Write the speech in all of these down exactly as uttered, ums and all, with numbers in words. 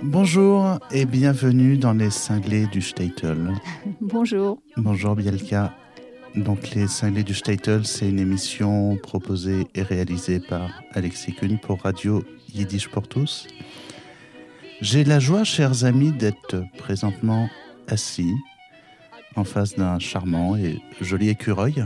Bonjour et bienvenue dans les cinglés du Shtetl. Bonjour. Bonjour Bielka. Donc les cinglés du Shtetl, c'est une émission proposée et réalisée par Alexis Kuhn pour Radio Yiddish pour tous. J'ai la joie, chers amis, d'être présentement assis en face d'un charmant et joli écureuil.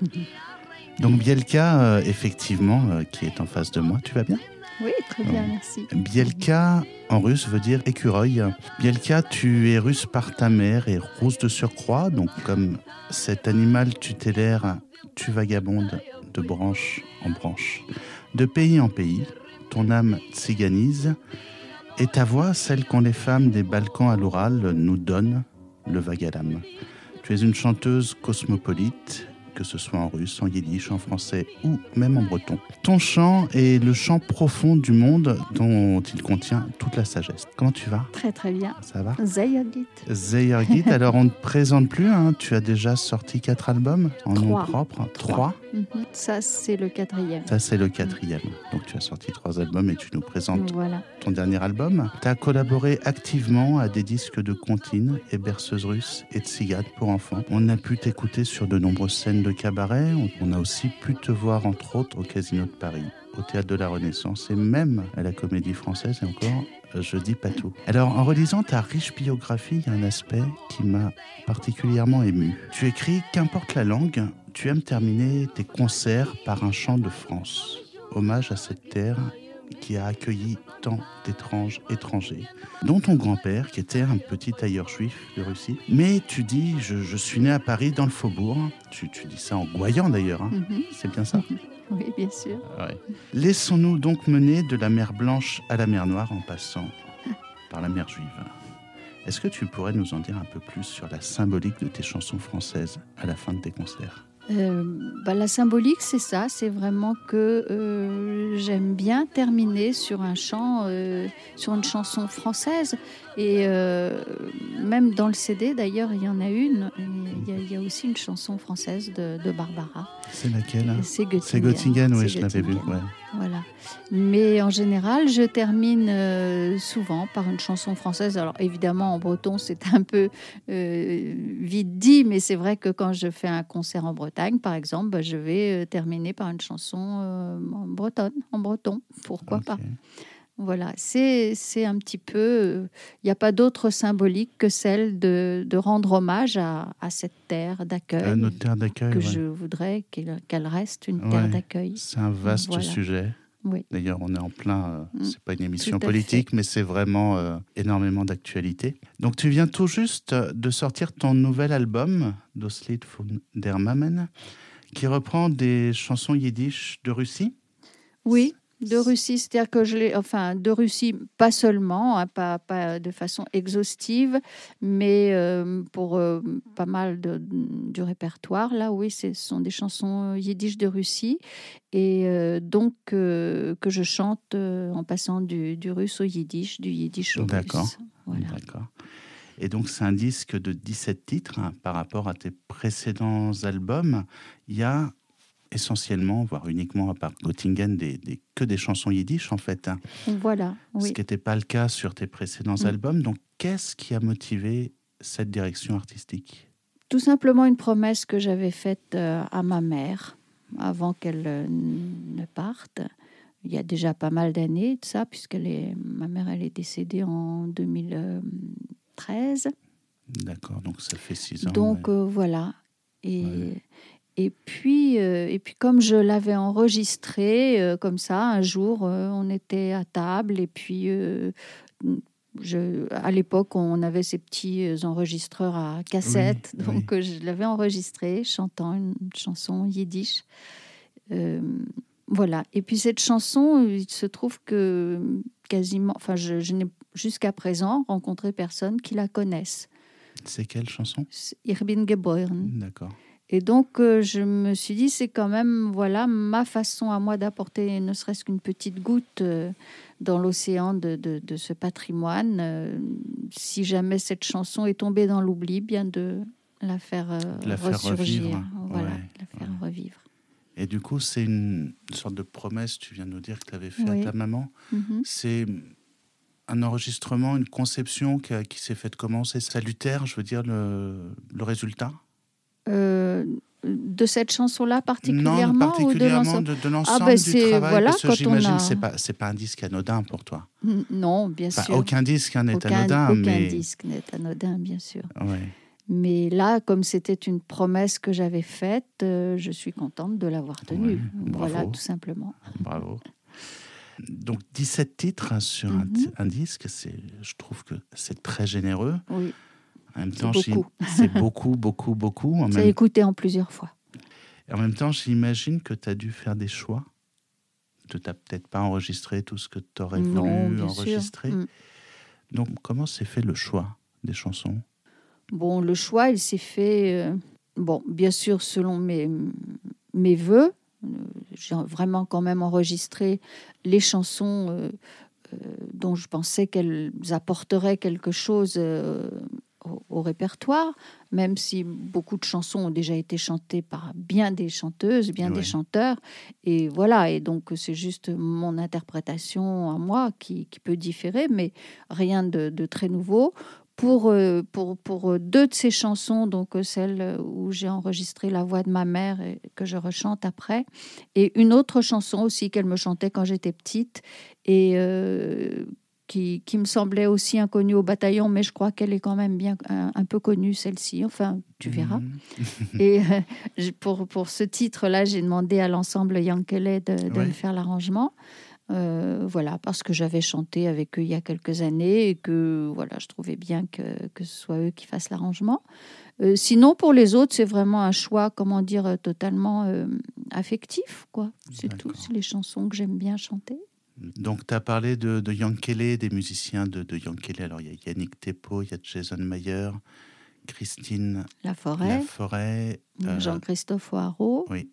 Donc Bielka, euh, effectivement, euh, qui est en face de moi, tu vas bien ? Oui, très bien, merci. Bielka, en russe, veut dire écureuil. Bielka, tu es russe par ta mère et rousse de surcroît. Donc, comme cet animal tutélaire, tu vagabondes de branche en branche, de pays en pays. Ton âme tsiganise et ta voix, celle qu'ont les femmes des Balkans à l'Oural, nous donne le vague à l'âme. Tu es une chanteuse cosmopolite, que ce soit en russe, en yiddish, en français ou même en breton. Ton chant est le chant profond du monde dont il contient toute la sagesse. Comment tu vas ? Très très bien. Ça va ? Zayagit. Zayagit, alors on ne te présente plus, hein. Tu as déjà sorti quatre albums en nom propre. Trois. Mm-hmm. Ça c'est le quatrième. Ça c'est le quatrième. Donc tu as sorti trois albums et tu nous présentes voilà. ton dernier album. Tu as collaboré activement à des disques de comptines et berceuses russes et de cigales pour enfants. On a pu t'écouter sur de nombreuses scènes de cabaret. On a aussi pu te voir entre autres au Casino de Paris, au Théâtre de la Renaissance et même à la Comédie Française et encore, je dis pas tout. Alors en relisant ta riche biographie, il y a un aspect qui m'a particulièrement ému. Tu écris « Qu'importe la langue, tu aimes terminer tes concerts par un chant de France. Hommage à cette terre qui a accueilli tant d'étranges étrangers, dont ton grand-père, qui était un petit tailleur juif de Russie. Mais tu dis, je, je suis né à Paris, dans le faubourg. Tu, tu dis ça en gouaillant d'ailleurs, hein. Mm-hmm. C'est bien ça ? Mm-hmm. Oui, bien sûr. Ouais. Laissons-nous donc mener de la mer Blanche à la mer Noire en passant par la mer Juive. Est-ce que tu pourrais nous en dire un peu plus sur la symbolique de tes chansons françaises à la fin de tes concerts ? Euh, bah, la symbolique, c'est ça, c'est vraiment que euh, j'aime bien terminer sur un chant, euh, sur une chanson française. Et euh, même dans le C D, d'ailleurs, il y en a une. Il y, y a aussi une chanson française de, de Barbara. C'est laquelle ? C'est Göttingen. C'est Göttingen, oui, c'est je l'avais vu. Ouais. Voilà. Mais en général, je termine euh, souvent par une chanson française. Alors évidemment, en breton, c'est un peu euh, vite dit, mais c'est vrai que quand je fais un concert en Bretagne, par exemple, bah, je vais euh, terminer par une chanson euh, en bretonne, en breton. Pourquoi okay. pas ? Voilà, c'est, c'est un petit peu... Il euh, n'y a pas d'autre symbolique que celle de, de rendre hommage à, à cette terre d'accueil. À notre terre d'accueil, Que ouais. je voudrais qu'elle, qu'elle reste une terre ouais, d'accueil. C'est un vaste voilà. sujet. Oui. D'ailleurs, on est en plein... Euh, mmh, c'est pas une émission politique, mais c'est vraiment euh, énormément d'actualité. Donc, tu viens tout juste de sortir ton nouvel album, Das Lied von der Mammen, qui reprend des chansons yiddish de Russie. Oui. De Russie, c'est-à-dire que je l'ai, enfin, de Russie, pas seulement, hein, pas, pas de façon exhaustive, mais euh, pour euh, pas mal de, du répertoire, là, oui, ce sont des chansons yiddish de Russie, et euh, donc euh, que je chante euh, en passant du, du russe au yiddish, du yiddish au D'accord. russe. Voilà. D'accord. Et donc, c'est un disque de dix-sept titres, hein, par rapport à tes précédents albums. Il y a essentiellement, voire uniquement à part Göttingen, des, des, que des chansons yiddish en fait. Hein. Voilà, oui. Ce qui n'était pas le cas sur tes précédents mmh. albums. Donc, qu'est-ce qui a motivé cette direction artistique ? Tout simplement une promesse que j'avais faite euh, à ma mère avant qu'elle euh, ne parte. Il y a déjà pas mal d'années de ça, puisque ma mère elle est décédée en deux mille treize. D'accord, donc ça fait six ans. Donc ouais. euh, voilà. Et... Ouais. Et puis, euh, et puis, comme je l'avais enregistré, euh, comme ça, un jour, euh, on était à table. Et puis, euh, je, à l'époque, on avait ces petits enregistreurs à cassette. Oui, donc, oui. je l'avais enregistré, chantant une chanson yiddish. Euh, voilà. Et puis, cette chanson, il se trouve que quasiment... Enfin, je, je n'ai jusqu'à présent rencontré personne qui la connaisse. C'est quelle chanson ? Ich bin geboren. D'accord. Et donc, euh, je me suis dit, c'est quand même voilà, ma façon à moi d'apporter ne serait-ce qu'une petite goutte euh, dans l'océan de, de, de ce patrimoine. Euh, si jamais cette chanson est tombée dans l'oubli, bien de la faire, euh, de la faire ressurgir. Revivre. Voilà, ouais, de la faire ouais. revivre. Et du coup, c'est une sorte de promesse, tu viens de nous dire, que tu avais fait oui. à ta maman. Mm-hmm. C'est un enregistrement, une conception qui, a, qui s'est faite comment? C'est salutaire, je veux dire, le, le résultat euh, De cette chanson-là particulièrement? Non, particulièrement ou de l'ensemble, de, de l'ensemble ah ben du c'est, travail, voilà, parce que quand j'imagine on a... que ce n'est pas, c'est pas un disque anodin pour toi. Non, bien enfin, sûr. Aucun disque n'est aucun, anodin. Aucun mais... disque n'est anodin, bien sûr. Ouais. Mais là, comme c'était une promesse que j'avais faite, euh, je suis contente de l'avoir tenue. Ouais, voilà, tout simplement. Bravo. Donc dix-sept titres hein, sur mm-hmm. un, un disque, c'est, je trouve que c'est très généreux. Oui, en même c'est temps, beaucoup. C'est beaucoup, beaucoup, beaucoup. En c'est même... écouté en plusieurs fois. Et en même temps, j'imagine que tu as dû faire des choix. Tu n'as peut-être pas enregistré tout ce que tu aurais non, voulu enregistrer. Mm. Donc comment s'est fait le choix des chansons? Bon, le choix, il s'est fait, euh, bon, bien sûr, selon mes, mes voeux. J'ai vraiment quand même enregistré les chansons euh, euh, dont je pensais qu'elles apporteraient quelque chose euh, au, au répertoire, même si beaucoup de chansons ont déjà été chantées par bien des chanteuses, bien oui. des chanteurs. Et voilà, et donc c'est juste mon interprétation à moi qui, qui peut différer, mais rien de, de très nouveau. Pour, pour, pour deux de ces chansons, donc celle où j'ai enregistré la voix de ma mère et que je rechante après, et une autre chanson aussi qu'elle me chantait quand j'étais petite et euh, qui, qui me semblait aussi inconnue au bataillon, mais je crois qu'elle est quand même bien un, un peu connue, celle-ci. Enfin, tu verras. Mmh. Et euh, pour, pour ce titre-là, j'ai demandé à l'ensemble Yankele de, de ouais. me faire l'arrangement. Euh, voilà, parce que j'avais chanté avec eux il y a quelques années et que voilà, je trouvais bien que, que ce soit eux qui fassent l'arrangement. Euh, sinon, pour les autres, c'est vraiment un choix, comment dire, totalement euh, affectif, quoi. C'est D'accord. tout, c'est les chansons que j'aime bien chanter. Donc, tu as parlé de, de Yankele, des musiciens de, de Yankele. Alors, il y a Yannick Thépeau, il y a Jason Mayer, Christine Laforêt, Laforêt euh, Jean-Christophe Oaro. Oui.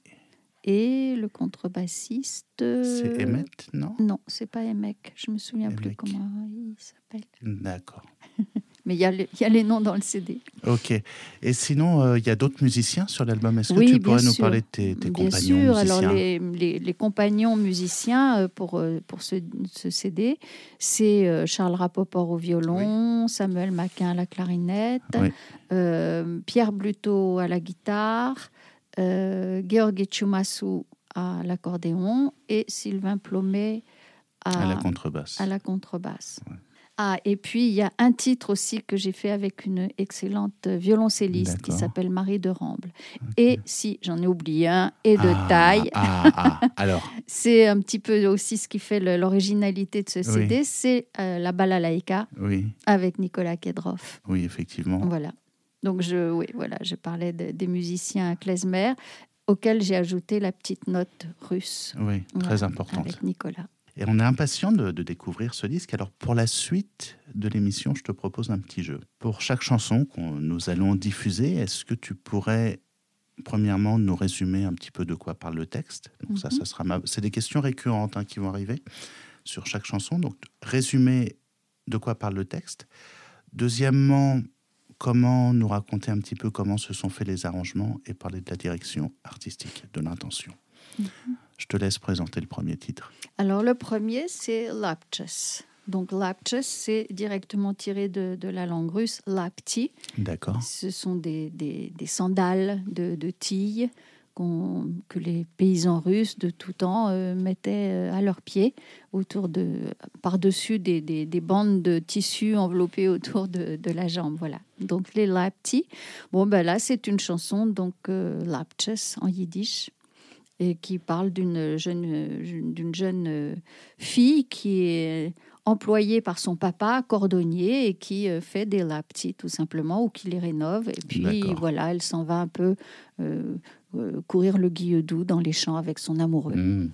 Et le contrebassiste... C'est Emmett, non? Non, c'est pas Emmett. Je me souviens Emmett. plus comment il s'appelle. D'accord. Mais il y, y a les noms dans le C D. Ok. Et sinon, il euh, y a d'autres musiciens sur l'album. Est-ce oui, que tu pourrais sûr. nous parler de tes, tes bien compagnons sûr. musiciens? Alors, les, les, les compagnons musiciens pour, pour ce, ce C D, c'est Charles Rapoport au violon, oui. Samuel Maquin à la clarinette, oui. euh, Pierre Bluteau à la guitare, Euh, Gheorghe Ciumasu à l'accordéon et Sylvain Plomet à, à la contrebasse. À la contrebasse. Ouais. Ah, et puis, il y a un titre aussi que j'ai fait avec une excellente violoncelliste D'accord. qui s'appelle Marie de Ramble. Okay. Et si, j'en ai oublié un, et de ah, taille. Ah, ah, alors. C'est un petit peu aussi ce qui fait le, l'originalité de ce C D, oui. c'est euh, la balalaïka oui. avec Nicolas Kedrov. Oui, effectivement. Voilà. Donc, je, oui, voilà, je parlais de, des musiciens klezmer auxquels j'ai ajouté la petite note russe. Oui, très voilà, importante. Avec Nicolas. Et on est impatient de, de découvrir ce disque. Alors, pour la suite de l'émission, je te propose un petit jeu. Pour chaque chanson que nous allons diffuser, est-ce que tu pourrais, premièrement, nous résumer un petit peu de quoi parle le texte? Donc, mm-hmm. ça, ça sera ma... C'est des questions récurrentes hein, qui vont arriver sur chaque chanson. Donc, résumer de quoi parle le texte. Deuxièmement, comment nous raconter un petit peu comment se sont faits les arrangements et parler de la direction artistique, de l'intention. Mm-hmm. Je te laisse présenter le premier titre. Alors, le premier, c'est Lapches. Donc, Lapches, c'est directement tiré de, de la langue russe, lapti. D'accord. Ce sont des, des, des sandales de, de tille qu'on, que les paysans russes de tout temps euh, mettaient à leurs pieds, autour de, par-dessus des, des, des bandes de tissu enveloppées autour de, de la jambe. Voilà. Donc, les lapti. Bon, ben là, c'est une chanson, donc euh, Lapches en yiddish, et qui parle d'une jeune, d'une jeune fille qui est employée par son papa, cordonnier, et qui fait des lapti, tout simplement, ou qui les rénove. Et puis, D'accord. voilà, elle s'en va un peu euh, euh, courir le guilledou dans les champs avec son amoureux. Mmh.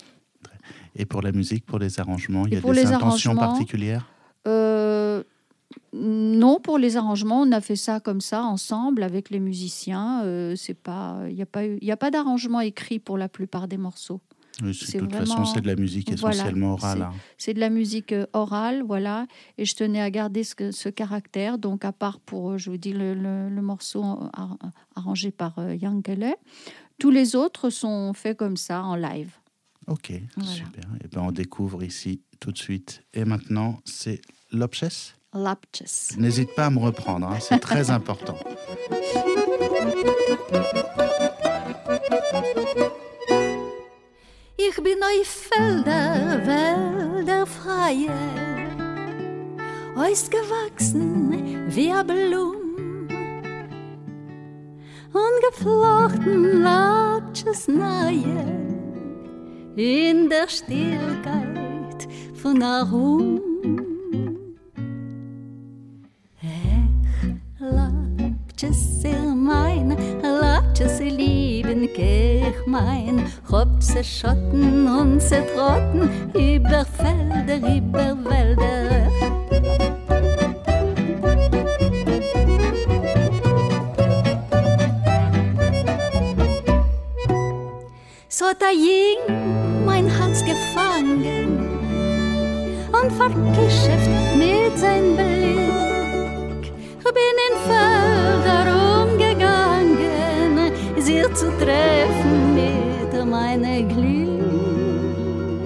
Et pour la musique, pour les arrangements, il y a des intentions particulières euh, Non, pour les arrangements, on a fait ça comme ça, ensemble, avec les musiciens. Euh, c'est pas, il n'y a pas eu, il n'y a pas d'arrangement écrit pour la plupart des morceaux. Oui, c'est, de toute vraiment, façon, c'est de la musique essentiellement voilà, orale. Hein. C'est, c'est de la musique orale, voilà. Et je tenais à garder ce, ce caractère. Donc, à part pour, je vous dis, le, le, le morceau arrangé par Yankele, tous les autres sont faits comme ça, en live. Ok, voilà. Super. Et ben, on découvre ici tout de suite. Et maintenant, c'est Lopches? Lapches. N'hésite pas à me reprendre, hein, c'est très important. Ich bin auf Felder, Wälder freie, ausgewachsen wie a Blum und geflochten Lapches neue in der Stillkeit von Arum. Lapches sehr mein, Lapches lieben ich mein, hab ze Schotten und ze Trotten über Felder, über Wälder. So hat er jing mein Herz gefangen und vergeschäft mit sein Blick. Bin in Felder umgegangen, sie zu treffen mit meinem Glück.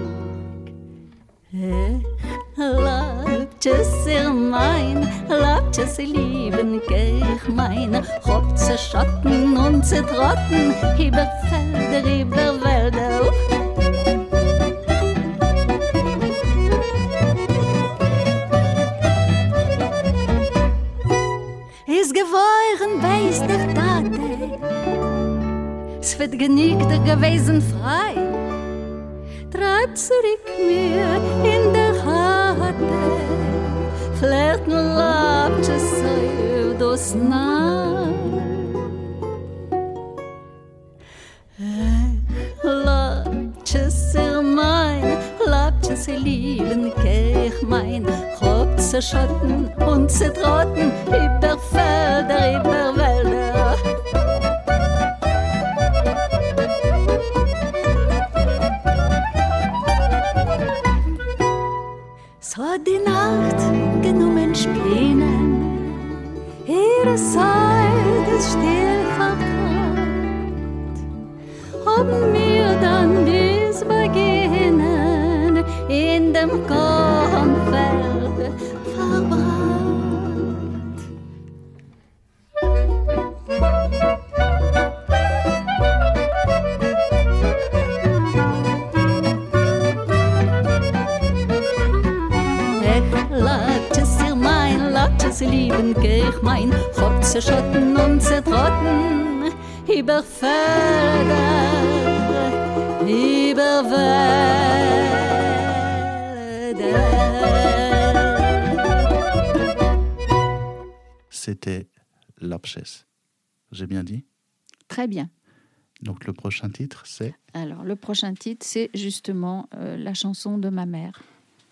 Ich Lapches sehr mein, Lapches lieben ich mein, hab ze Schatten und ze Trotten über Felder, über Wälder. Is geworden weiß der Tate, es wird genügter gewesen frei. Treib zurück mir in der Harte, flirten Lapches auf das Nahe. Lapches er mein, Lapches lieben ich mein, hab ze Schotten und ze Trotten über Felder, über Wälder. So hat die Nacht genommen Spinnen, ihre Seite ist still vertraut, haben wir dann bis beginnen in dem Kornfeld verbrannt. Lapches lieben ich mein, hab ze Schotten und ze Trotten über Felder, über Wälder. C'était Lapches. J'ai bien dit? Très bien. Donc le prochain titre, c'est? Alors, le prochain titre, c'est justement euh, la chanson de ma mère.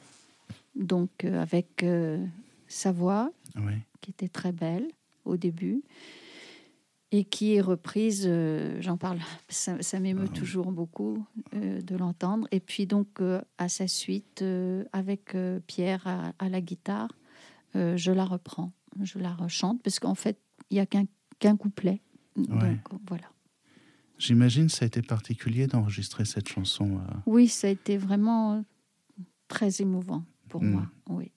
Donc, euh, avec euh, sa voix, oui, qui était très belle au début, et qui est reprise, euh, j'en parle, ça, ça m'émeut ah, toujours oui. beaucoup euh, de l'entendre. Et puis donc, euh, à sa suite, euh, avec euh, Pierre à, à la guitare, euh, je la reprends, je la rechante, parce qu'en fait, il n'y a qu'un, qu'un couplet. Ouais. Donc, voilà. J'imagine que ça a été particulier d'enregistrer cette chanson. Euh... Oui, ça a été vraiment très émouvant pour mmh. moi, oui.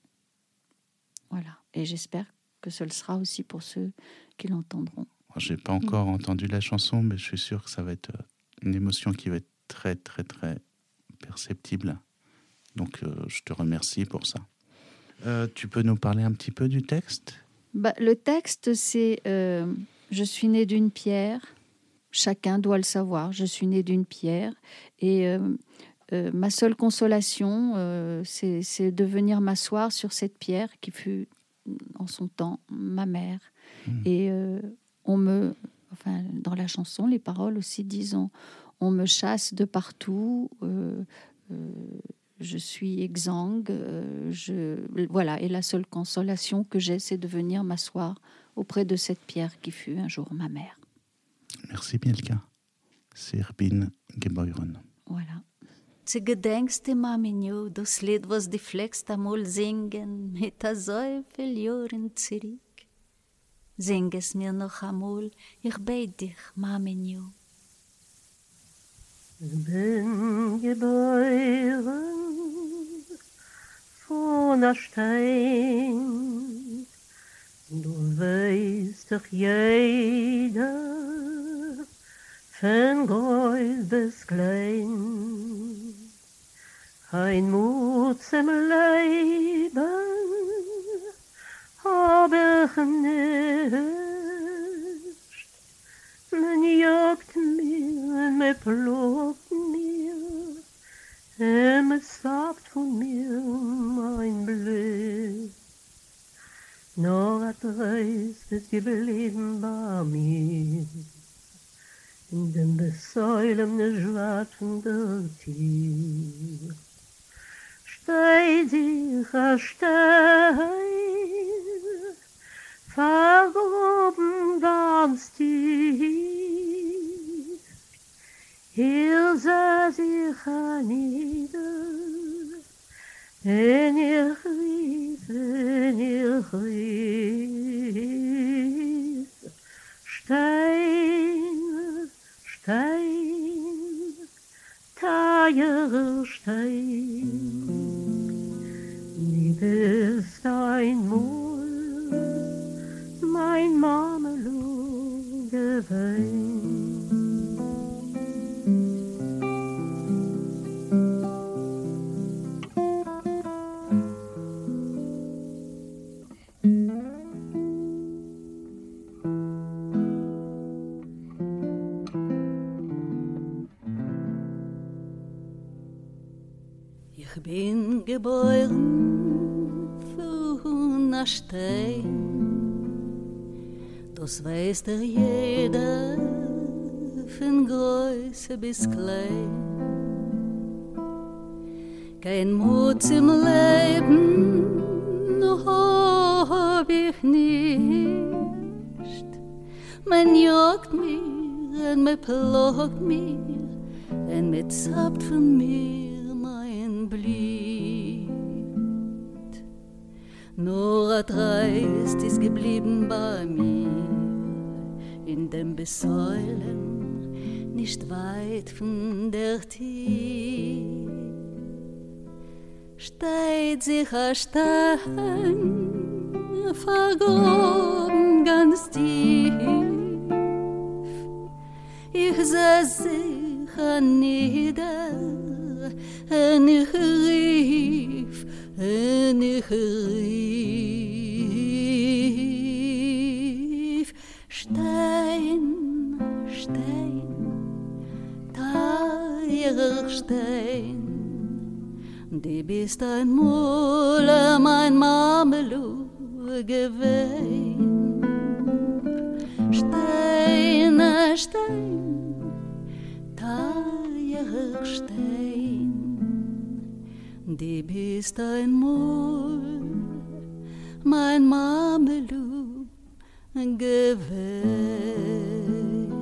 Voilà. Et j'espère que ce le sera aussi pour ceux qui l'entendront. Je n'ai pas encore mmh. entendu la chanson, mais je suis sûr que ça va être une émotion qui va être très, très, très perceptible. Donc, euh, je te remercie pour ça. Euh, tu peux nous parler un petit peu du texte ? Bah, le texte, c'est euh, « Je suis née d'une pierre ». Chacun doit le savoir. Je suis née d'une pierre. Et euh, euh, ma seule consolation, euh, c'est, c'est de venir m'asseoir sur cette pierre qui fut, en son temps, ma mère. Mmh. Et euh, on me... Enfin, dans la chanson, les paroles aussi disent on, on me chasse de partout, euh, euh, je suis exsangue. Euh, je, voilà. Et la seule consolation que j'ai, c'est de venir m'asseoir auprès de cette pierre qui fut un jour ma mère. Merci Mielka. C'est Irbin Gebeuren. Voilà. Zu gedenkste Maminjo, das Lied, was die Flex einmal singen, mit a so viel Jahren zurück. Sing es mir noch einmal, ich bete dich, Maminjo. Ich bin geboren von a Stein. Du weißt doch jeder, von groß bis klein, ein Mut zum Leben hab ich nicht. Man jagt mir, man plagt mir, und man sagt von mir mein Blick. Nur ein Dreist ist geblieben bei mir, in dem Besäulen des schwarzenden Tier. Steht sich ein Stein, vergraben ganz tief. Hier saß ich nieder, en ich rief, en ich rief. Stein, Stein, teurer Stein, wie bist einmal mein Mamelung gewesen. Ich bin geboren von a Stein, das weiß der jeder, von Größe bis klein. Kein Mut im Leben hab ich nicht. Man jagt mir und man plagt mir und man zappt von mir Blit. Nur ein Dreist ist geblieben bei mir, in dem Besäulen, nicht weit von der Tür. Steht sich ein Stein, vergraben ganz tief. Ich seh sicher nieder, en ich rief, en ich rief. Stein, Stein, teurer Stein, die bist einmal mein Mamelou gewesen. Stein, Stein, teurer Stein, die bist einmal mein Mamelou gewesen.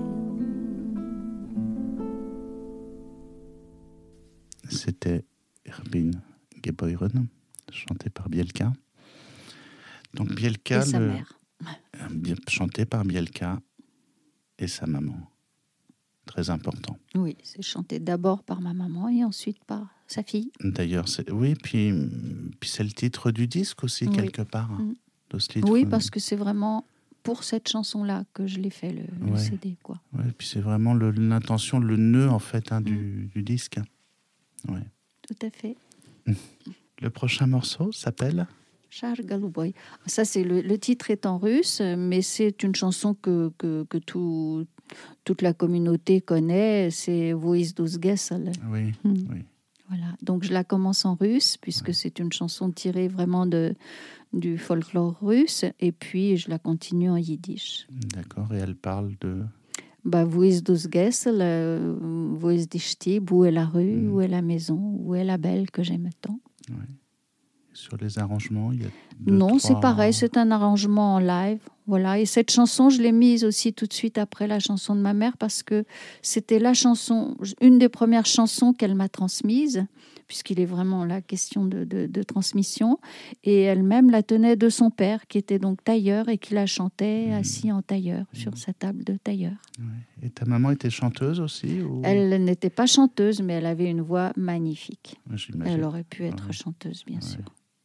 C'était Irbin Geboren, chanté par Bielka. Donc Bielka, et sa le... mère. chanté par Bielka et sa maman. Très important. Oui, c'est chanté d'abord par ma maman et ensuite par sa fille. D'ailleurs, c'est... oui, puis, puis c'est le titre du disque aussi, oui. quelque part. Mmh. De ce titre. Oui, parce que c'est vraiment pour cette chanson-là que je l'ai fait, le, ouais. le C D. Quoi. Ouais, puis c'est vraiment le, l'intention, le nœud, en fait, hein, mmh. du, du disque. Ouais. Tout à fait. Le prochain morceau s'appelle Char Galouboy. Ça, c'est le, le titre est en russe, mais c'est une chanson que, que, que tout, toute la communauté connaît. C'est Voiz dus Gesel. Oui, hmm. oui. Voilà. Donc, je la commence en russe, puisque ouais. c'est une chanson tirée vraiment de, du folklore russe. Et puis, je la continue en yiddish. D'accord. Et elle parle de... Bah, Voiz dus Gesel, euh, Voiz di Stib, où est la rue, mm. où est la maison, où est la belle que j'aime tant. Ouais. Sur les arrangements, il y a deux, Non, trois... c'est pareil, c'est un arrangement en live. Voilà. Et cette chanson, je l'ai mise aussi tout de suite après la chanson de ma mère parce que c'était la chanson, une des premières chansons qu'elle m'a transmise, puisqu'il est vraiment la question de, de, de transmission. Et elle-même la tenait de son père, qui était donc tailleur et qui la chantait mmh. assis en tailleur, mmh. sur sa table de tailleur. Ouais. Et ta maman était chanteuse aussi ou... Elle n'était pas chanteuse, mais elle avait une voix magnifique. J'imagine. Elle aurait pu être ouais. chanteuse, bien ouais. sûr.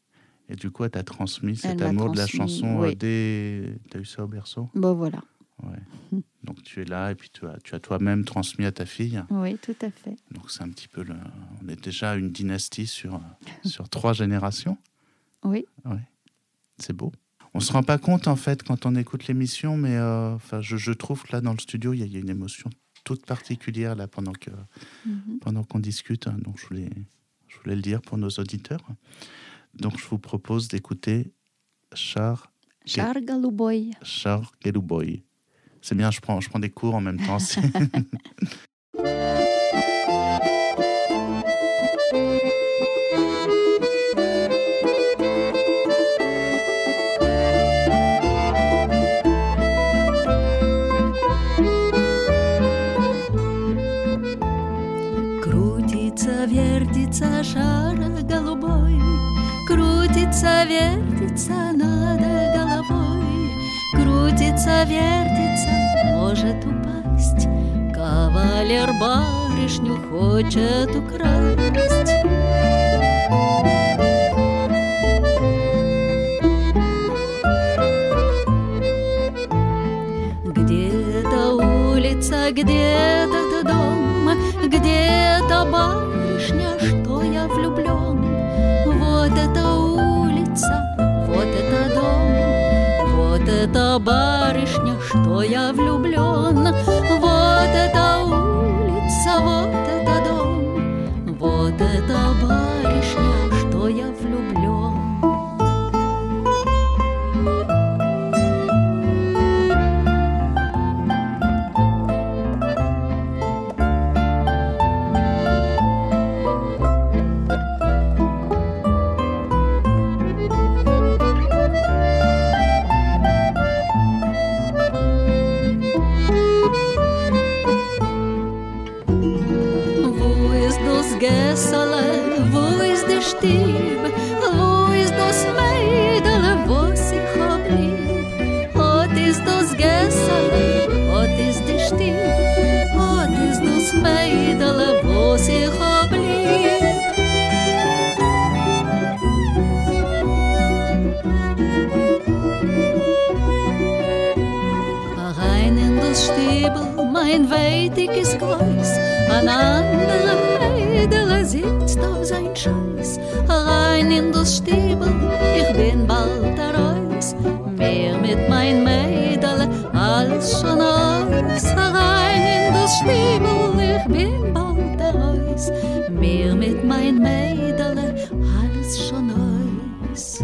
Et du coup, elle t'a transmis cet Elle m'a amour de la transmis, chanson oui. euh, dès... T'as eu ça au berceau ? Bon, voilà. Ouais. Donc tu es là et puis tu as, tu as toi-même transmis à ta fille. Oui, tout à fait. Donc c'est un petit peu... Le... On est déjà une dynastie sur, sur trois générations. Oui. Ouais. C'est beau. On ne se rend pas compte, en fait, quand on écoute l'émission, mais euh, enfin, je, je trouve que là, dans le studio, il y, y a une émotion toute particulière là, pendant, que, Mm-hmm. pendant qu'on discute. Donc je voulais, je voulais le dire pour nos auditeurs. Donc je vous propose d'écouter Char... Char Голубой. Char Голубой. C'est bien, je prends, je prends des cours en même temps. Крутится, вертится шар голубой, крутится, вертится над головой, крутится, вертится, может упасть. Кавалер барышню хочет украсть. Где-то улица, где-то дом, где-то барышня, что я влюблен. Вот эта улица, вот это дом, вот эта барышня, что я влюблен. Вот эта улица, вот это дом, вот эта барышня, что я влюблен. Stieb, wo ist das Mädel, wo sich blieb? Hat ist das Gessel, hat ist die Stieb, hat ist das Mädel, wo sich blieb? Rein in das Stiebel, mein weitiges Kreuz, ein anderer Mädel sitzt auf sein Scheiß. Rein in das Stiebel, ich bin bald raus, mehr mit mein Mädel als schon aus. Rein in das Stiebel, ich bin bald raus, mehr mit mein Mädel als schon aus.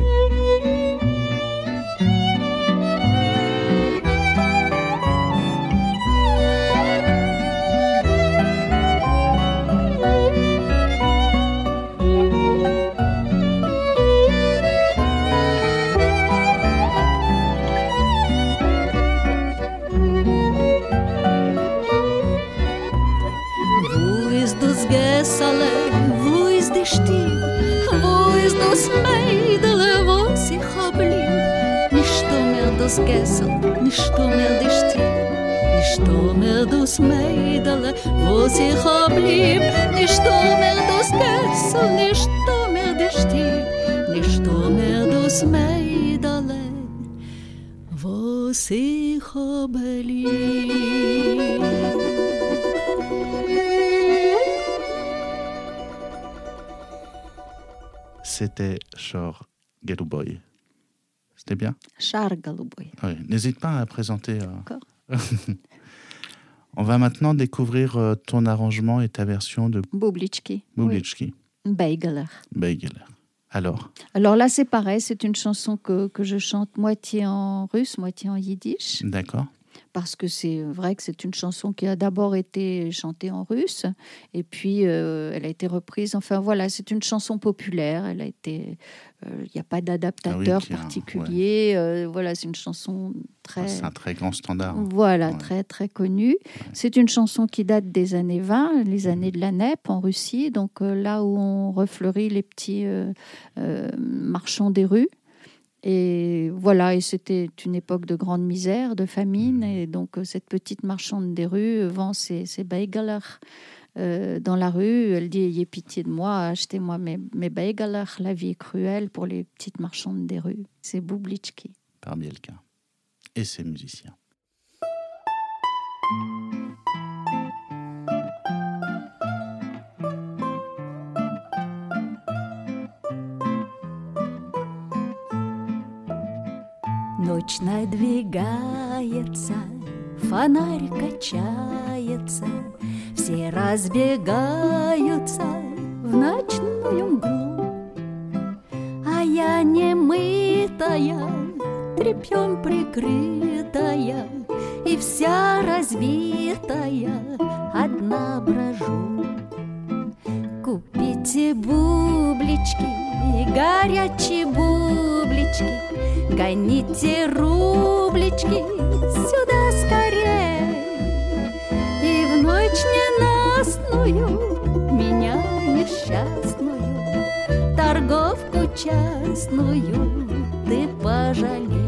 Wo ist die Stieb? Wo ist das Mädel, wo sich blieb? Nicht mehr das Gessel, nicht mehr die Stieb, nicht mehr das Mädel, wo sich blieb. Nicht mehr das Gessel, nicht mehr die Stieb, nicht mehr das Mädel, wo sich blieb. C'était Char Голубой. C'était bien ? Char Голубой. Oui. N'hésite pas à présenter. Euh... D'accord. On va maintenant découvrir euh, ton arrangement et ta version de Boublitchki. Boublitchki. Oui. Beigeler. Beigeler. Alors Alors là, c'est pareil, c'est une chanson que, que je chante moitié en russe, moitié en yiddish. D'accord. Parce que c'est vrai que c'est une chanson qui a d'abord été chantée en russe et puis euh, elle a été reprise. Enfin voilà, c'est une chanson populaire. Elle a été, il euh, n'y a pas d'adaptateur ah oui, particulier. Ouais. Euh, voilà, c'est une chanson très. C'est un très grand standard. Voilà, ouais. très très connue. Ouais. C'est une chanson qui date des années vingt, les années de la N E P en Russie. Donc euh, là où on refleurit les petits euh, euh, marchands des rues. Et voilà, et c'était une époque de grande misère, de famine, et donc cette petite marchande des rues vend ses, ses beigelers euh, dans la rue. Elle dit, ayez pitié de moi, achetez-moi mes, mes beigalach, la vie est cruelle pour les petites marchandes des rues. C'est Bubliczki. Par Bielka et ses musiciens. Ночь надвигается, фонарь качается, все разбегаются в ночную мглу. А я немытая, тряпьем прикрытая, и вся разбитая, одна брожу. Купите бублички, горячие бублички, гоните рублички сюда скорей. И в ночь ненастную меня несчастную, торговку частную, ты пожалей.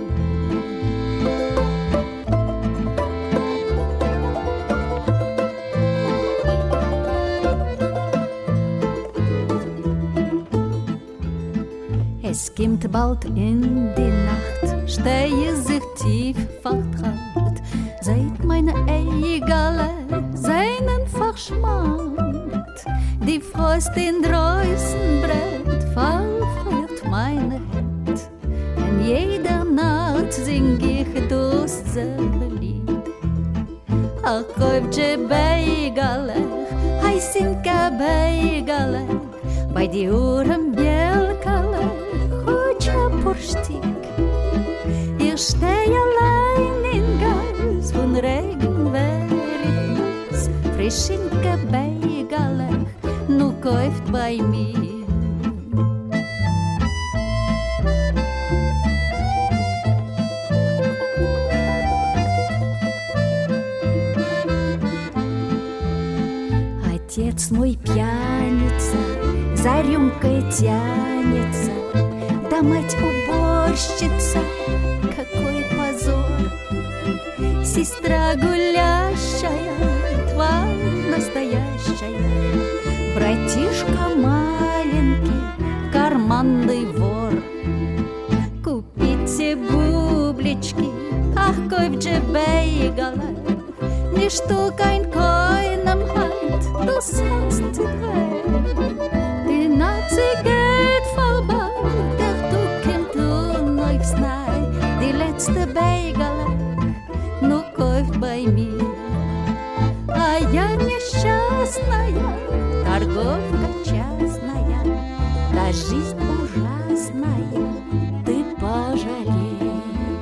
Es kommt bald in die Nacht, stehe sich tief vertraut, seit meine Eigele seinen verschmand. Die Frost in draußen brennt, verfeuert meine Hand. In jeder Nacht sing ich dasselbe Lied. Ach, kaufje Beigele, heißinka Beigele, bei die Ohren Bielkele, Purstик. Ich stehe allein in Gas, von Regen wäre nass. Frischinke Beigele, nu kauft bei mir. Отец мой пьяница, за рюмкой тянется, да мать уборщица, какой позор. Сестра гулящая, тварь настоящая, братишка маленький, карманный вор. Купите бублички, ach kaufje Beigele, nicht du kein keinem halt, du sollst die Welt. Die Nazi geht vorbei, die letzte Beigele, nu kauft bei mir. А я несчастная, торговка частная, да жизнь ужасная, ты пожалей.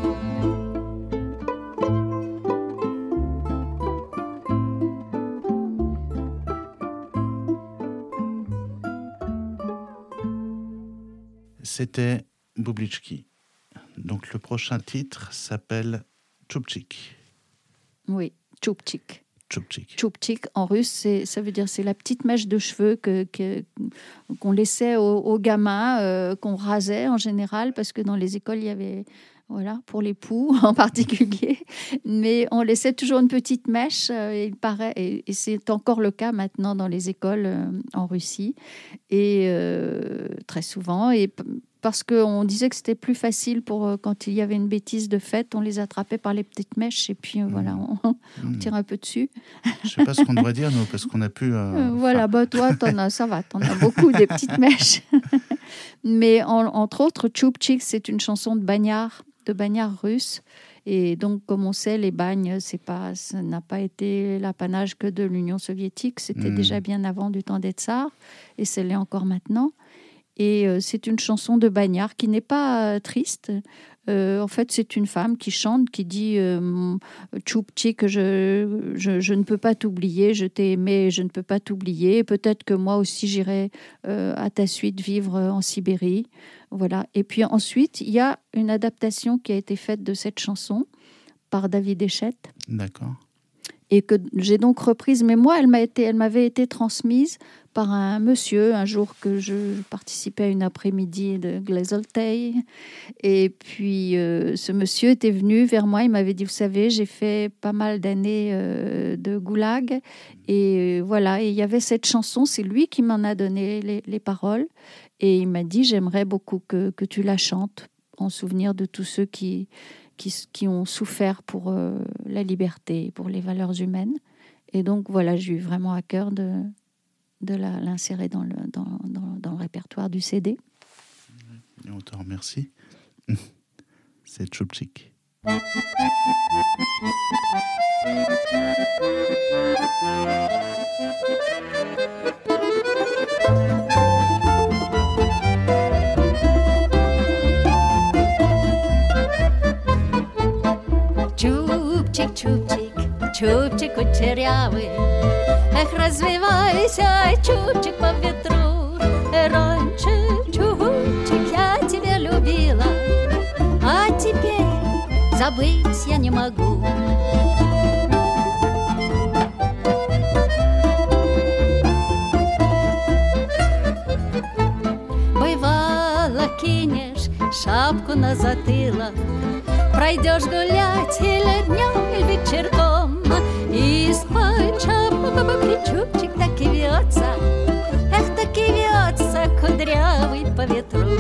C'était Bubliczki. Donc le prochain titre s'appelle Tchoupchik. Oui, Tchoupchik. Tchoupchik. Tchoupchik en russe, c'est, ça veut dire c'est la petite mèche de cheveux que, que, qu'on laissait aux, aux gamins, euh, qu'on rasait en général, parce que dans les écoles, il y avait, voilà, pour les poux en particulier, mais on laissait toujours une petite mèche, euh, il paraît, et, et c'est encore le cas maintenant dans les écoles euh, en Russie, et euh, très souvent, et parce qu'on disait que c'était plus facile pour euh, quand il y avait une bêtise de fête, on les attrapait par les petites mèches et puis euh, mmh. voilà, on, on mmh. tire un peu dessus. Je ne sais pas ce qu'on devrait dire, nous, parce qu'on a pu... Euh, euh, voilà, bah, toi, t'en as, ça va, t'en as beaucoup des petites mèches. Mais en, entre autres, Tchoupchik, c'est une chanson de bagnard, de bagnard russe. Et donc, comme on sait, les bagnes, c'est pas, ça n'a pas été l'apanage que de l'Union soviétique. C'était mmh. déjà bien avant du temps des tsars, et c'est l'est encore maintenant. Et euh, c'est une chanson de bagnard qui n'est pas euh, triste. Euh, en fait, c'est une femme qui chante, qui dit euh, « Tchoupchik, je, je, je ne peux pas t'oublier, je t'ai aimé, je ne peux pas t'oublier. Peut-être que moi aussi, j'irai euh, à ta suite vivre en Sibérie. » Voilà. Et puis ensuite, il y a une adaptation qui a été faite de cette chanson par David Echette. D'accord. et que j'ai donc reprise. Mais moi, elle, m'a été, elle m'avait été transmise par un monsieur, un jour que je participais à une après-midi de Glesoltei. Et puis, euh, ce monsieur était venu vers moi, il m'avait dit, vous savez, j'ai fait pas mal d'années euh, de goulag. Et euh, voilà, et il y avait cette chanson, c'est lui qui m'en a donné les, les paroles. Et il m'a dit, j'aimerais beaucoup que, que tu la chantes, en souvenir de tous ceux qui, qui, qui ont souffert pour euh, la liberté, pour les valeurs humaines. Et donc, voilà, j'ai eu vraiment à cœur de... de la, l'insérer dans le, dans, dans, dans le répertoire du C D. Et on te remercie. C'est Tchoupchik. Чубчик, чубчик, чубчик кучерявый, эх, развивайся, чубчик, по ветру. Раньше, чубчик, я тебя любила, а теперь забыть я не могу. Бывало, кинешь шапку на затылок, пройдешь гулять или днем, или вечерком, и из-под шапки чубчик так и вьется, эх, так и вьется, кудрявый по ветру.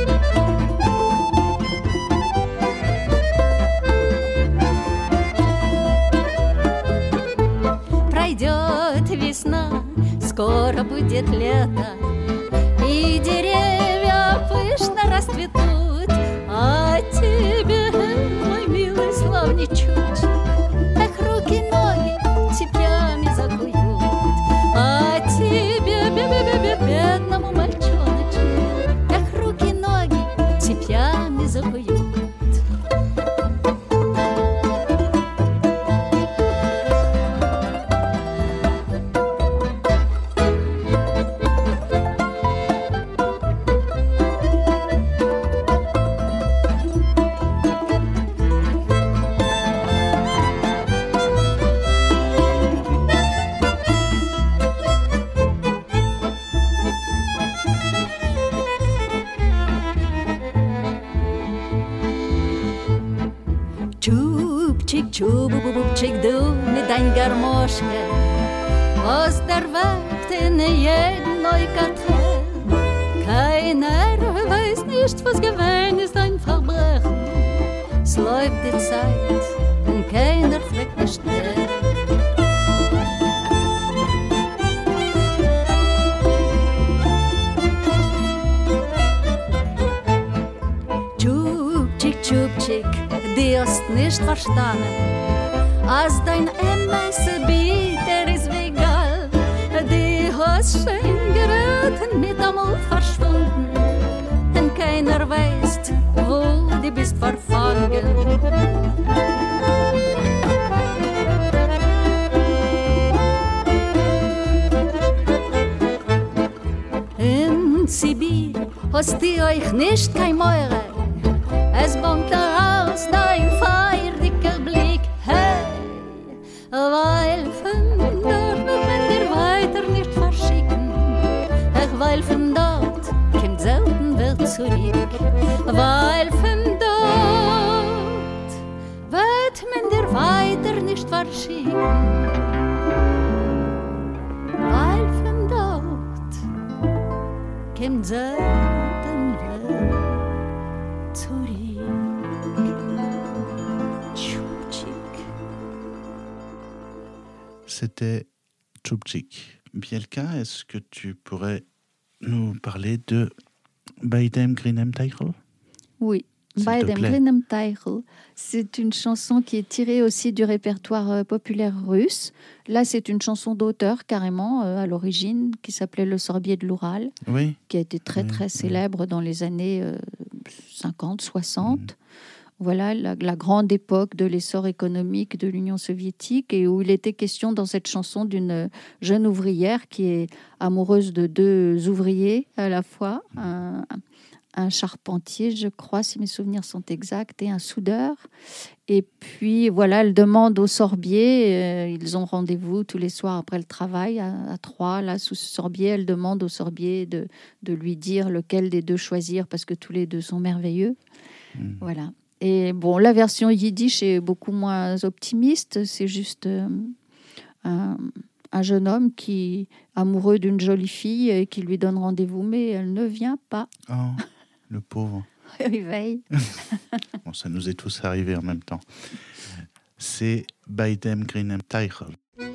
Пройдет весна, скоро будет лето, и деревья пышно расцветут, а тебе, мой милый славный чубчик, эх, руки-ноги цепями закуют, а тебе, бе-бе-бе-бе, бедному мальчоночку, эх, руки-ноги цепями закуют. Чуб-бубубчик, думай, дань гармошка, Osterwelt in jeden Neukatel. Keiner weiß nicht, was gewesen ist, ein Verbrechen. Es läuft die Zeit und keiner fragt mich schnell. Tschubtschik, Tschubtschik, die hast nicht verstanden, als dein M S bitter ist wie Gall. Die hast schön geraten, mit einmal verschwunden, denn keiner weiß, wo du bist verfangen. In Sibir hast du euch nicht kein Meure, es bonkt daraus dein feierdicker Blick. Hey, weil von dort wird man dir weiter nicht verschicken. Ach, weil von dort kommt selten wer zurück. Weil von dort wird man dir weiter nicht verschicken. Weil von dort kommt selten wer zurück. C'était Tchoupchik. Bielka, est-ce que tu pourrais nous parler de Baidem Grinem Teichel? Oui, Baidem Grinem Teichel, c'est une chanson qui est tirée aussi du répertoire euh, populaire russe. Là, c'est une chanson d'auteur carrément euh, à l'origine qui s'appelait Le Sorbier de l'Oural, oui. qui a été très très oui, célèbre oui. dans les années euh, cinquante soixante. Mmh. Voilà la, la grande époque de l'essor économique de l'Union soviétique et où il était question dans cette chanson d'une jeune ouvrière qui est amoureuse de deux ouvriers à la fois, un, un charpentier, je crois, si mes souvenirs sont exacts, et un soudeur. Et puis, voilà, elle demande au sorbier, euh, ils ont rendez-vous tous les soirs après le travail, à, à trois, là, sous ce sorbier. Elle demande au sorbier de, de lui dire lequel des deux choisir, parce que tous les deux sont merveilleux. Mmh. Voilà. Et bon, la version yiddish est beaucoup moins optimiste. C'est juste euh, un, un jeune homme qui est amoureux d'une jolie fille et qui lui donne rendez-vous, mais elle ne vient pas. Oh. Le pauvre. Réveil. Bon, ça nous est tous arrivé en même temps. C'est Bei dem grünen Teichel.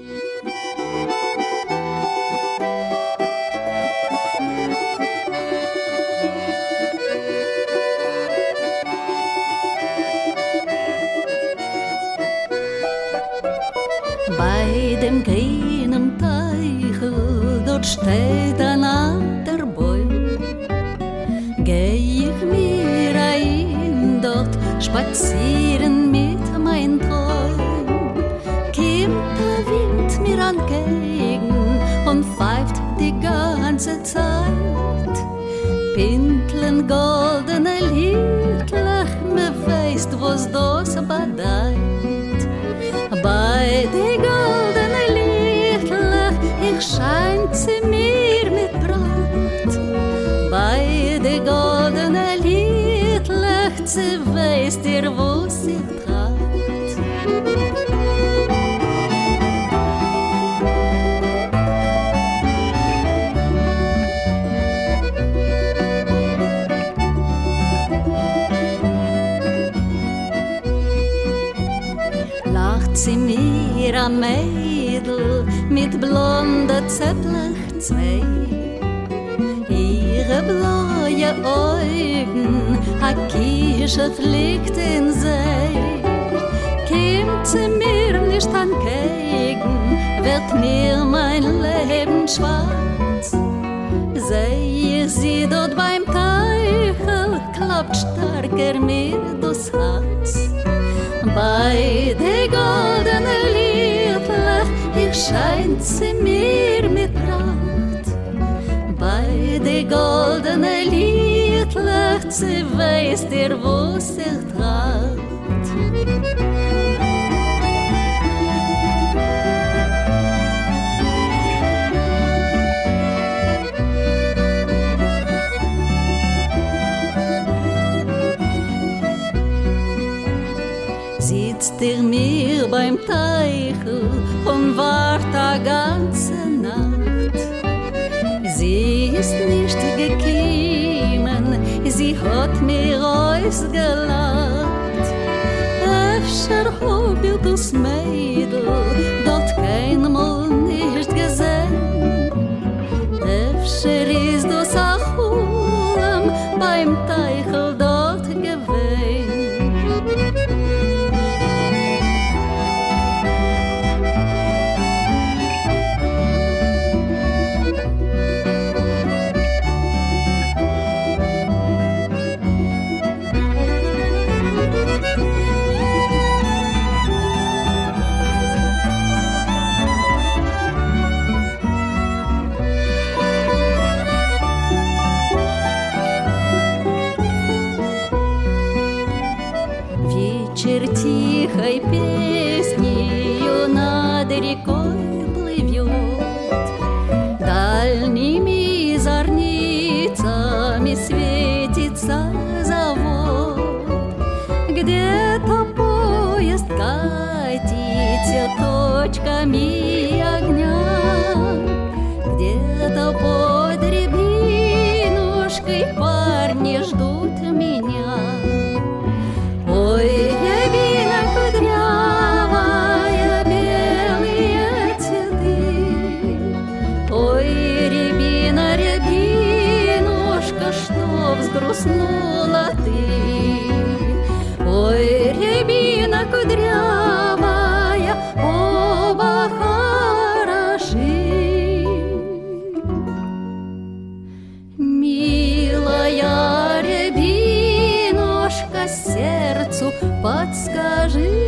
Bei dem grünen Teichel, dort steht ein alter Bäum. Geh ich mir ein dort spazieren mit mein Träum. Kommt der Wind mir entgegen und pfeift die ganze Zeit. Pintlen goldene Liedlach, me weißt, was das bedeutet. Bei die goldene Liedlach, ich scheint sie mir mit Brand. Bei die goldene Liedlach, sie weiß dir, wo sie trat. Lacht sie mir am Mädel mit blonden Zepplach-Zwei. Ihre blaue Augen, a Kirsche fliegt in See. Kommt sie mir nicht entgegen, wird mir mein Leben schwarz. Seh ich sie dort beim Teichel, klappt stärker mir das Herz. Bei der goldenen Liedlach, ich scheint sie mir mit Pracht. Bei der goldenen Liedlach, sie weiß dir, wo sie trat. Sitzt ihr mir beim Teichel und wart a ganze Nacht. Sie ist nicht gekommen, sie hat mir ausgelacht. Öfter hab ich das Mädel dort keinmal nicht gesehen. Öfter ist das a Chulam beim Teichel dort gewesen. Тихой песнею над рекой плывет, дальними зорницами светится завод. Где-то поезд катится точками огня, где-то под рябинушкой парни ждут меня. Ой, рябина кудрявая, белые цветы. Ой, рябина, рябинушка, что взгрустнула ты. Ой, рябина кудрявая, оба хороши. Милая рябинушка, сердцу подскажи.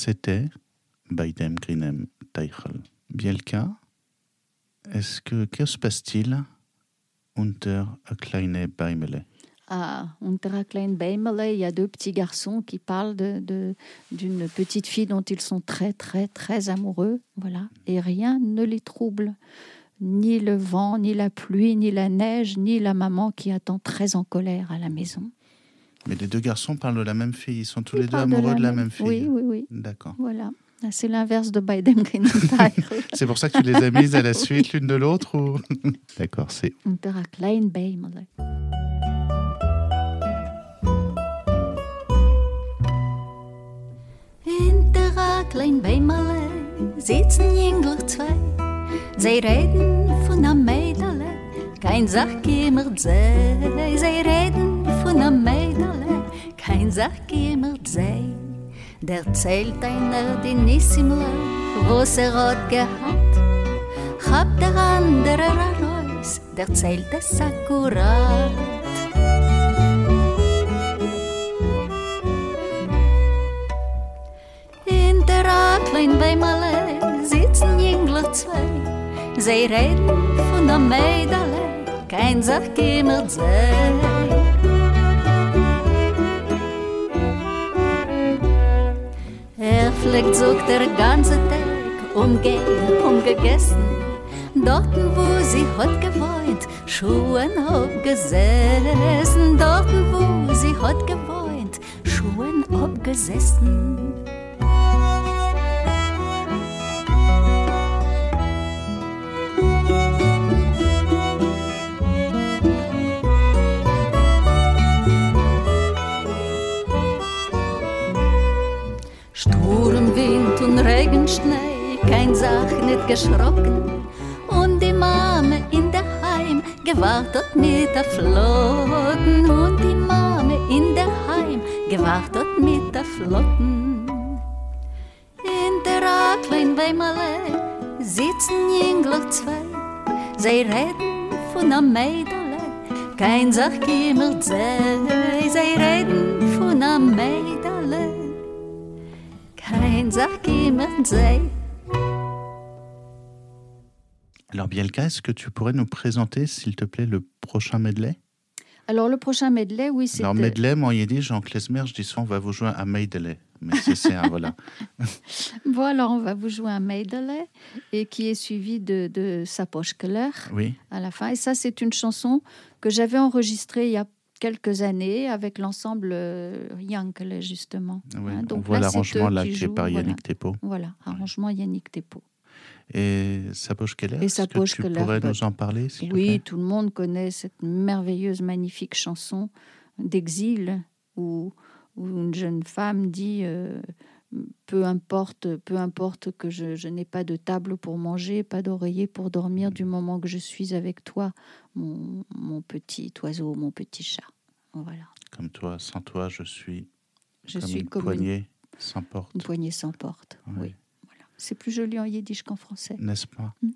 c'était Beidem Grinem Teichel. Bielka, est-ce que, que se passe-t-il unter a kleine Beimele? À Unter Klein Beimele, il y a deux petits garçons qui parlent de, de, d'une petite fille dont ils sont très, très, très amoureux. Voilà. Et rien ne les trouble. Ni le vent, ni la pluie, ni la neige, ni la maman qui attend très en colère à la maison. Mais les deux garçons parlent de la même fille. Ils sont tous ils les deux amoureux de la, de la même... même fille. Oui, oui, oui. D'accord. Voilà. C'est l'inverse de Beidem Grinem Teichel. C'est pour ça que tu les as mises à la suite l'une de l'autre ou... D'accord, c'est... Unter Klein Beimele. Unter Klein Beimele sitzen jünglich zwei. Sie reden von einem Mädele, kein Sach gimmert sei. Sie reden von einem Mädele, kein Sach gimmert sei. Der zählt einer die Nissimle, was er hat gehabt. Hab der andere Reus, der zählt es akkurat. In der Klein Beimele sitzen jünglich zwei. Sie reden von einem Mädele, kein Sach gimmert sei. Er fliegt sucht der ganze Tag, umgehen, umgegessen. Dorten, wo sie hat gewohnt, Schuhen abgesessen. Dorten, wo sie hat gewohnt, Schuhen abgesessen. Sturmwind und Regenschnee, kein Sach nicht geschrocken. Und die Mame in der Heim gewartet mit der Flotten. Und die Mame in der Heim gewartet mit der Flotten. In der Klein Beimele sitzen jünglich zwei. Sie reden von einem Mädele, kein Sach gimmert sei. Sie reden von einem Mädele, kein Sach gimmert sei. Alors Bielka, est-ce que tu pourrais nous présenter, s'il te plaît, le prochain medley? Alors le prochain medley, oui, c'est... Alors medley, moi, il dit, Jean Klezmer, je dis souvent, on va vous jouer un medley. Mais c'est, c'est un, voilà. Bon, alors on va vous jouer un medley, et qui est suivi de, de Sapochkeller oui. à la fin. Et ça, c'est une chanson que j'avais enregistrée il y a quelques années avec l'ensemble euh, Yankele, justement. Oui, hein, donc on voit là, l'arrangement là, qui jouent, est par Yannick voilà. Thépeau. Voilà, arrangement ouais. Yannick Thépeau. Et Sapochkeller, est-ce que tu Keller, pourrais bah, nous en parler, s'il te Oui, plaît? tout le monde connaît cette merveilleuse, magnifique chanson d'exil où, où une jeune femme dit euh, peu importe, peu importe que je, je n'ai pas de table pour manger, pas d'oreiller pour dormir, du moment que je suis avec toi, mon, mon petit oiseau, mon petit chat. Voilà. Comme toi, sans toi, je suis je comme suis une comme poignée une, sans porte. Une poignée sans porte, oui. oui. Voilà. C'est plus joli en yiddish qu'en français. N'est-ce pas? mm.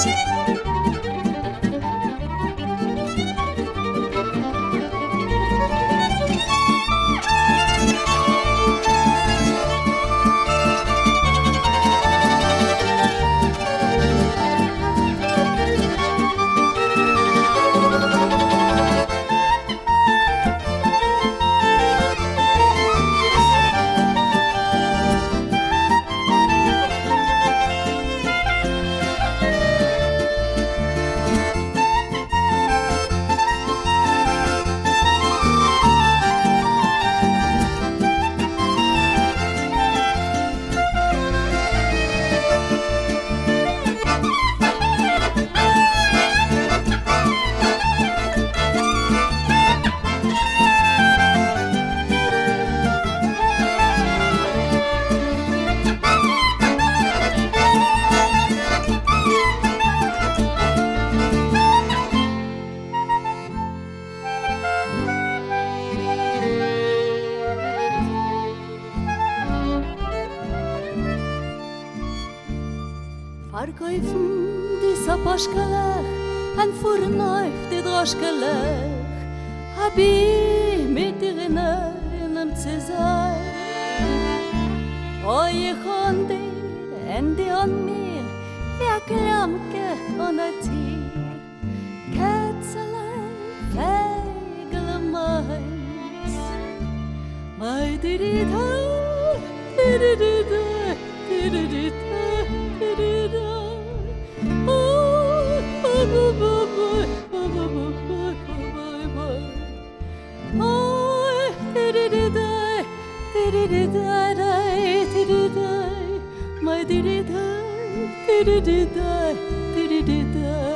Verkaufen die Saposchkelech, en Fuhrneuf die Droschkelech, hab ich mit dir in einem zu sein. Oh, ich und dir, en die und mir, wie a Klamke und a Tier. Kätzelein, Fägele meins, mei di di da, di di di da, di di di da, di di da. My diddy die, diddy die, diddy die die.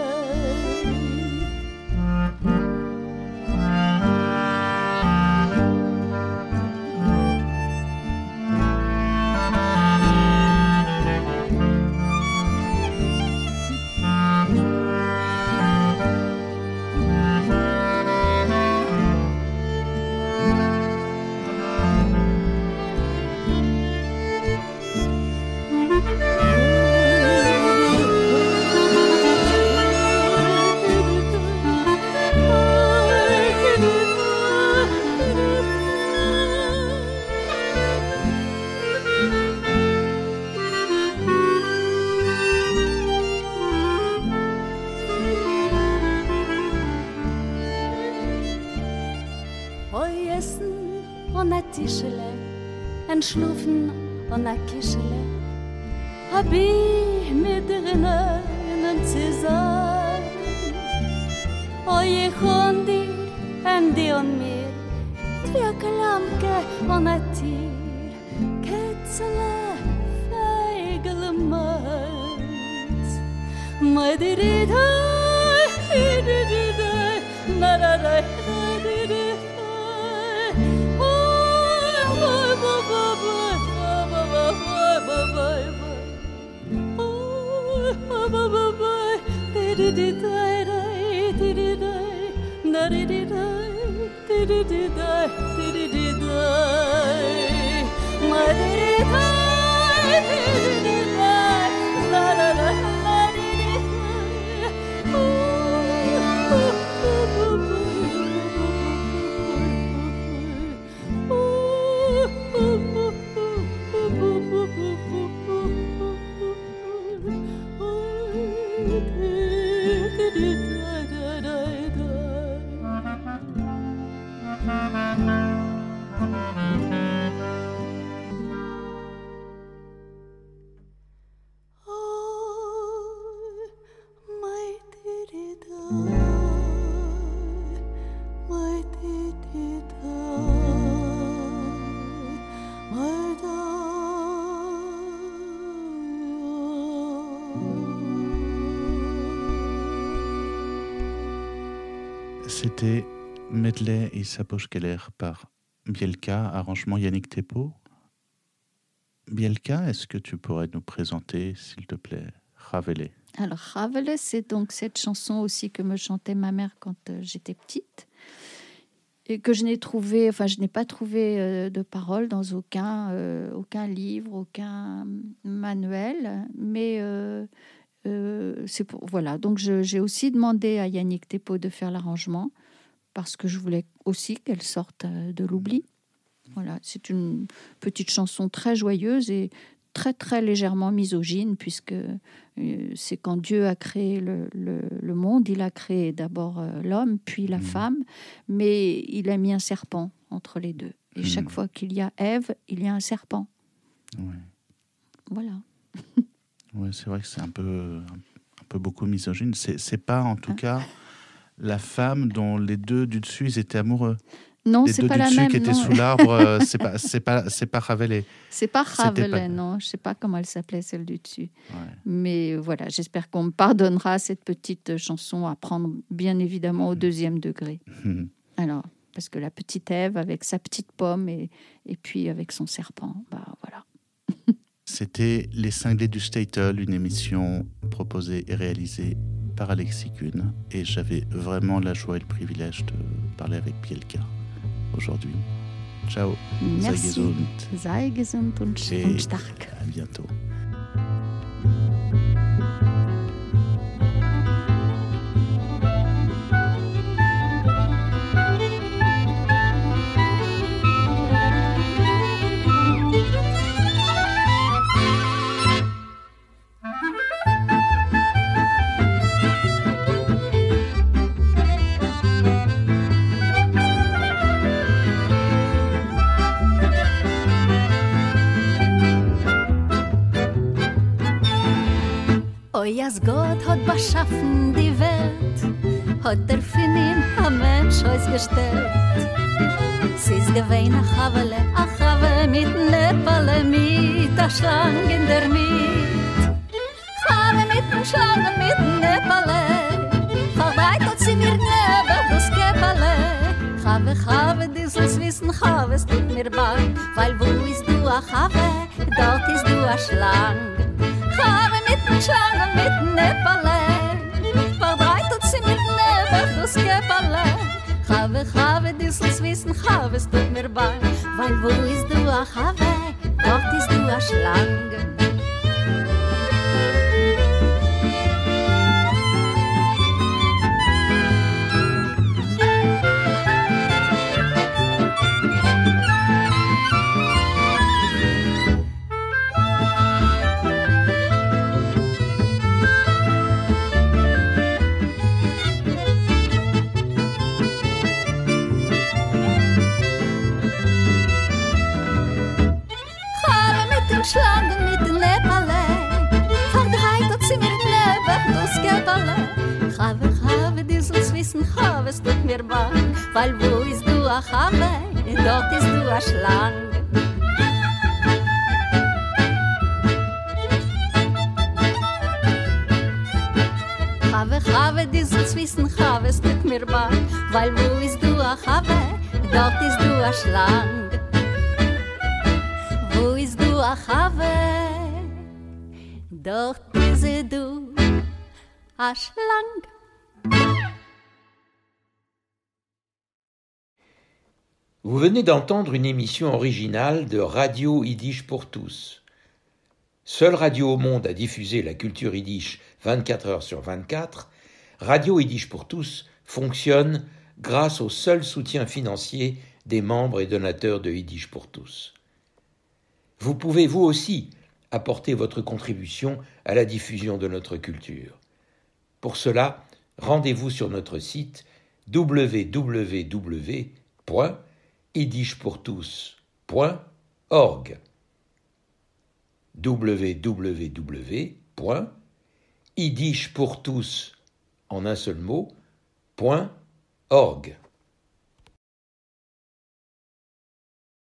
En schlufen und a Kischele, hab ich mit drinnen zu sein. Oh, ich und die, en die und mir, wie Klamke und a Tier. Kätzele, Fägele meins, mei di di da, di di di da, na da da, di di. C'était Medley et Sapochkeller par Bielka, arrangement Yannick Thépeau. Bielka, est-ce que tu pourrais nous présenter, s'il te plaît, Ravelé? Alors, Ravelé, c'est donc cette chanson aussi que me chantait ma mère quand euh, j'étais petite. Et que je n'ai trouvé, enfin, je n'ai pas trouvé euh, de paroles dans aucun, euh, aucun livre, aucun manuel. Mais euh, Euh, c'est pour, voilà. Donc, je, j'ai aussi demandé à Yannick Thépaut de faire l'arrangement parce que je voulais aussi qu'elle sorte de l'oubli. Voilà, c'est une petite chanson très joyeuse et très, très légèrement misogyne, puisque euh, c'est quand Dieu a créé le, le, le monde, il a créé d'abord euh, l'homme, puis la mmh. femme, mais il a mis un serpent entre les deux. Et mmh. chaque fois qu'il y a Ève, il y a un serpent. Ouais. Voilà. Ouais, c'est vrai que c'est un peu, un peu beaucoup misogyne. C'est, c'est pas, en tout hein? cas, la femme dont les deux du dessus, ils étaient amoureux. Non, les c'est deux pas du la dessus même. qui étaient non. sous l'arbre, euh, c'est pas, c'est pas, c'est pas Rabelais. C'est pas Rabelais, pas... non. Je sais pas comment elle s'appelait celle du dessus. Ouais. Mais voilà, j'espère qu'on me pardonnera cette petite chanson à prendre bien évidemment au deuxième degré. Mmh. Alors, parce que la petite Ève avec sa petite pomme et et puis avec son serpent, bah voilà. C'était Les Cinglés du Statel, une émission proposée et réalisée par Alexis Kuhn. Et j'avais vraiment la joie et le privilège de parler avec Pielka aujourd'hui. Ciao. Merci. Sei gesund. Sei gesund und, et und stark. À bientôt. Oi, als Gott hat beschaffen die Welt, hat er für ihn ein Mensch ausgestellt. Sie ist gewesen a Chavele, a Chave mit Nepale, mit a Schlang in der Miet. Chave mit a Schlang mit Nepale, vorbei tot sie mir neben das Kepale. Chave, Chave, die soll's wissen, Chave, es tut mir bang, weil wo ist du a Chave, dort ist du a Schlang. Chave mit a Schlang mit Nepale, vorbei tot sie mir neben das Kepale. Chave, Chave, die soll's wissen, Chave, es tut mir bang, weil wo ist du a Chave, dort ist du a Schlange. Schlangen mit den Nepale, verdreht hat sie mir neben das Kepale. Chave, Chave, die soll's wissen, Chave, es tut mir bang, weil wo ist du a Chave, dort ist du a Schlange. Chave, Chave, die soll's wissen, Chave, es tut mir bang, weil wo ist du a Chave, dort ist du a Schlange. Wo ist du a Chave, dort ist du a Schlang. Vous venez d'entendre une émission originale de Radio Yiddish pour tous. Seule radio au monde à diffuser la culture yiddish vingt-quatre heures sur vingt-quatre, Radio Yiddish pour tous fonctionne grâce au seul soutien financier des membres et donateurs de Yiddish pour tous. Vous pouvez vous aussi apporter votre contribution à la diffusion de notre culture. Pour cela, rendez-vous sur notre site w w w point yiddish pour tous point org w w w point yiddish pour tous en un seul mot point org